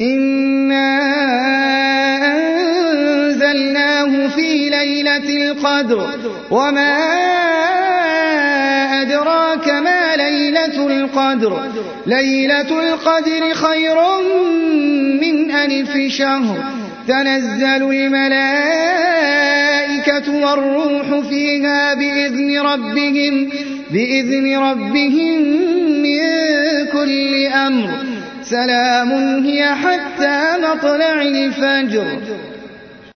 إنا أنزلناه في ليلة القدر وما أدراك ما ليلة القدر ليلة القدر خير من 1000 شهر تنزل الملائكة والروح فيها بإذن ربهم من كل أمر سلام هي حتى مطلع الفجر